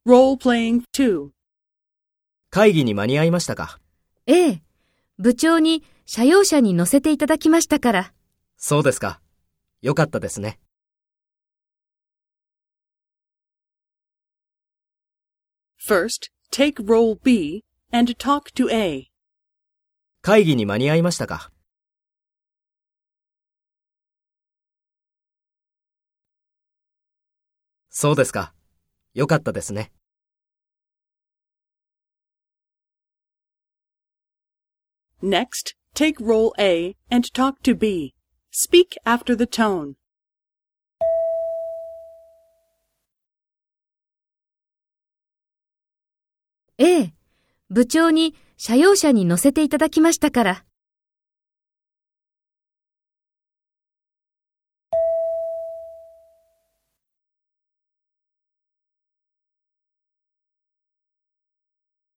Role-playing 2. 会議に間に合いましたか？ ええ、部長に社用車に乗せていただきましたから。 そうですか。よかったですね。 First, take role B and talk to A. 会議に間に合いましたか？そうですか。よかったですね。 Next, take role A and talk to B. Speak after the tone. ええ、部長に社用車に乗せていただきましたから。